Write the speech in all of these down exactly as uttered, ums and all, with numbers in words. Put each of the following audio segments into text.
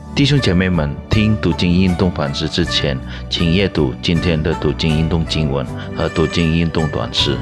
弟兄姐妹们，听读经运动反思之前，请阅读今天的读经运动经文和读经运动短诗。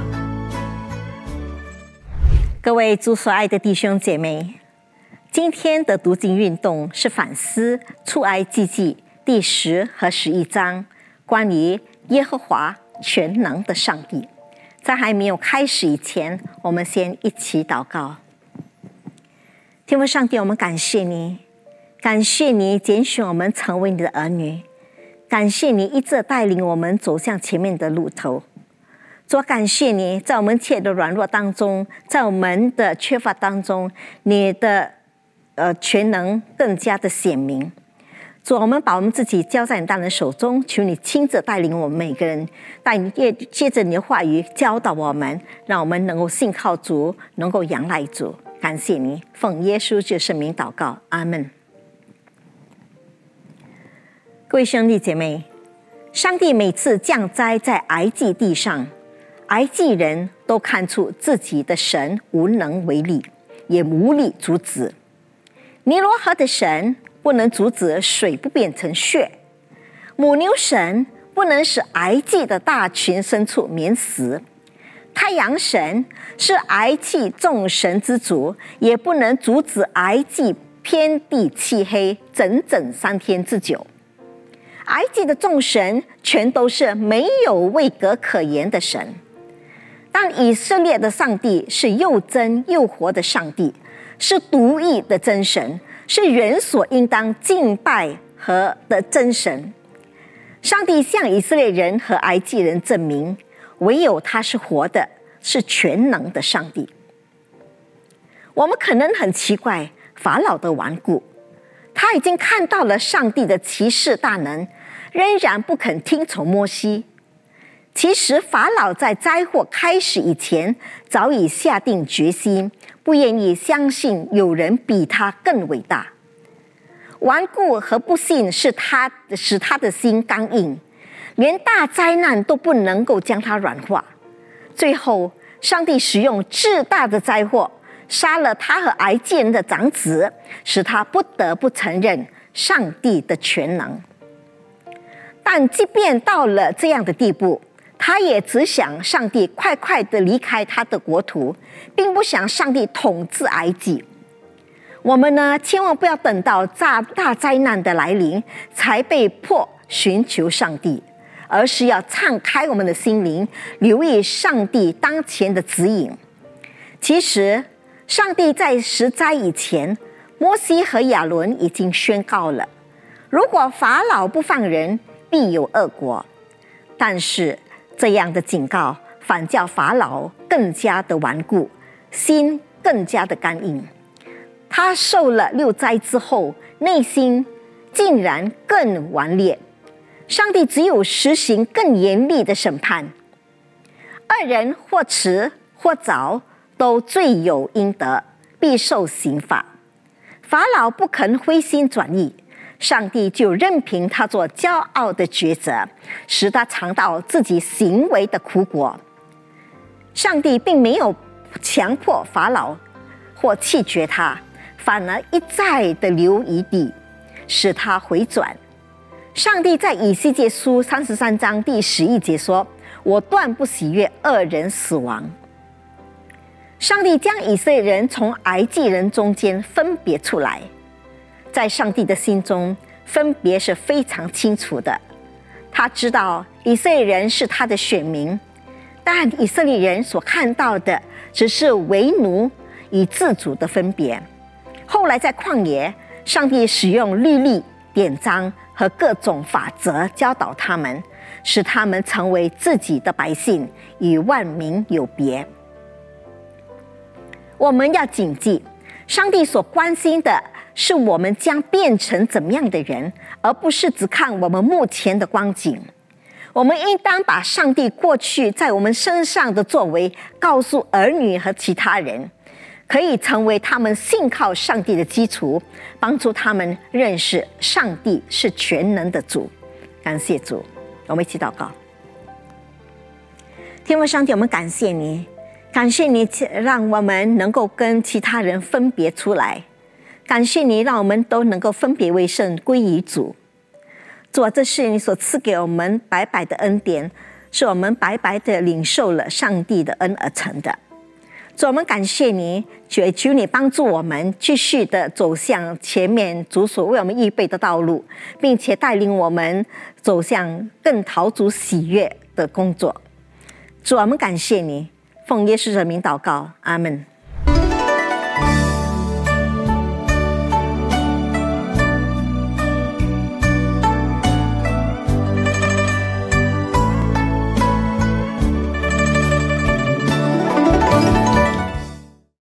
各位主所爱的弟兄姐妹，今天的读经运动是反思出埃及记第十和十一章关于耶和华全能的上帝。在还没有开始以前，我们先一起祷告。天父上帝，我们感谢你，感谢你拣选我们成为你的儿女，感谢你一直带领我们走向前面的路途。主，感谢你在我们一切的软弱当中，在我们的缺乏当中，你的呃全能更加的显明。主，我们把我们自己交在你大人手中，求你亲自带领我们每个人，带你借着你的话语教导我们，让我们能够信靠主，能够仰赖主。感谢你，奉耶稣基督圣名祷告，阿们。各位兄弟姐妹，上帝每次降灾在埃及地上，埃及人都看出自己的神无能为力，也无力阻止。尼罗河的神不能阻止水不变成血，母牛神不能使埃及的大群牲畜免死，太阳神是埃及众神之主，也不能阻止埃及遍地漆黑整整三天之久。埃及的众神全都是没有位格可言的神，但以色列的上帝是又真又活的上帝，是独一的真神，是人所应当敬拜和的真神。上帝向以色列人和埃及人证明，唯有他是活的，是全能的上帝。我们可能很奇怪法老的顽固，他已经看到了上帝的奇事大能，仍然不肯听从摩西。其实法老在灾祸开始以前早已下定决心，不愿意相信有人比他更伟大。顽固和不信是他使他的心刚硬，连大灾难都不能够将他软化。最后上帝使用至大的灾祸杀了他和埃及人的长子，使他不得不承认上帝的全能。但即便到了这样的地步，他也只想上帝快快地离开他的国土，并不想上帝统治埃及。我们呢，千万不要等到大大灾难的来临才被迫寻求上帝，而是要敞开我们的心灵，留意上帝当前的指引。其实上帝在十灾以前，摩西和亚伦已经宣告了，如果法老不放人，必有恶果。但是这样的警告反叫法老更加的顽固，心更加的刚硬。他受了六灾之后，内心竟然更顽劣。上帝只有实行更严厉的审判，二人或迟或早都罪有应得，必受刑罚。法老不肯灰心转意，上帝就任凭他做骄傲的抉择，使他尝到自己行为的苦果。上帝并没有强迫法老或弃绝他，反而一再的留余地，使他回转。上帝在以西结书三十三章第十一节说，我断不喜悦恶人死亡。上帝将以色列人从埃及人中间分别出来，在上帝的心中分别是非常清楚的。他知道以色列人是他的选民，但以色列人所看到的只是为奴与自主的分别。后来在旷野，上帝使用律例、典章和各种法则教导他们，使他们成为自己的百姓，与万民有别。我们要谨记，上帝所关心的是我们将变成怎么样的人，而不是只看我们目前的光景。我们应当把上帝过去在我们身上的作为告诉儿女和其他人，可以成为他们信靠上帝的基础，帮助他们认识上帝是全能的主。感谢主，我们一起祷告。天父上帝，我们感谢你，感谢你让我们能够跟其他人分别出来， 感谢你，让我们都能够分别为圣，归于主。主啊，这是你所赐给我们白白的恩典，是我们白白的领受了上帝的恩而成的。主，我们感谢你，求求你帮助我们继续的走向前面主所为我们预备的道路，并且带领我们走向更讨主喜悦的工作。主，我们感谢你，奉耶稣的名祷告，阿们。